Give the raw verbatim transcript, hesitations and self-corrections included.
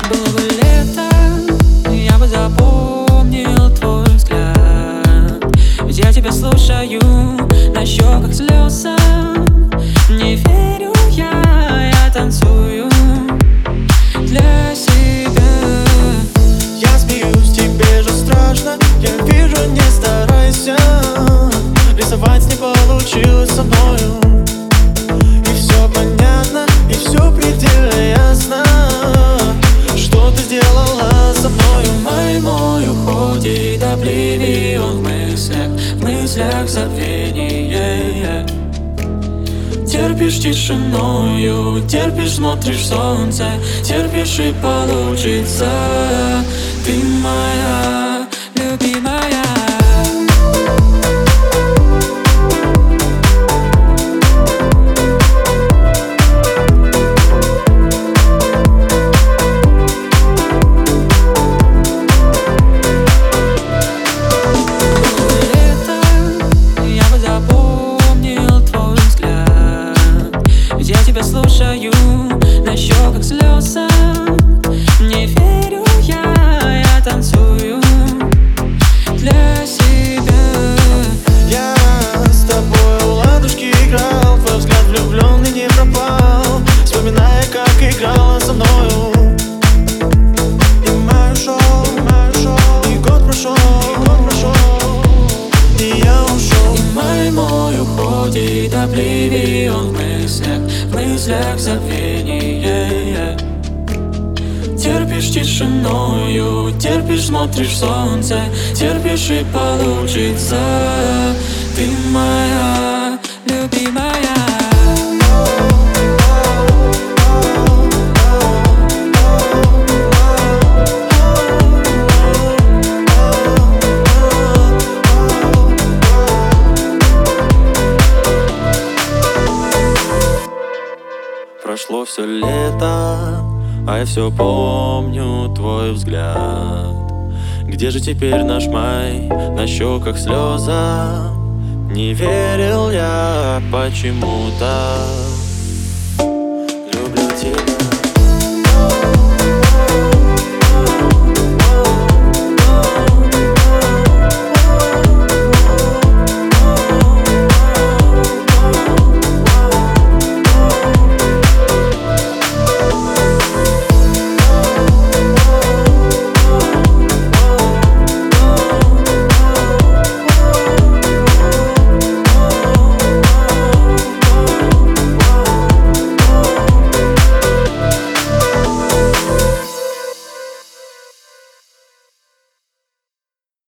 Было бы лето, я бы запомнил твой взгляд. Ведь я тебя слушаю, на щеках слезы. Не верю я, я танцую для себя. Я смеюсь, тебе же страшно. Я вижу, не старайся. Рисовать не получилось со мною. И все понятно, и все предельно ясно, что ты сделала со мною. Май мой уходит, обливион в мыслях, в мыслях забвение. Терпишь тишиною, терпишь, смотришь солнце, терпишь и получится. Ты моя любимая. Я тебя слушаю, на щеках слезы. Не верю я, я танцую для себя. Я с тобой у ладушки играл, твой взгляд влюбленный не пропал, вспоминая, как играла со мною. И май ушел, и год прошел, и я ушел. И май мой уходит, обливион в мыслях, в мыслях забвение. Терпишь тишиною, терпишь, смотришь солнце, терпишь и получится. Ты моя любимая. Прошло все лето, а я все помню твой взгляд. Где же теперь наш май? На щеках слеза. Не верил я почему-то.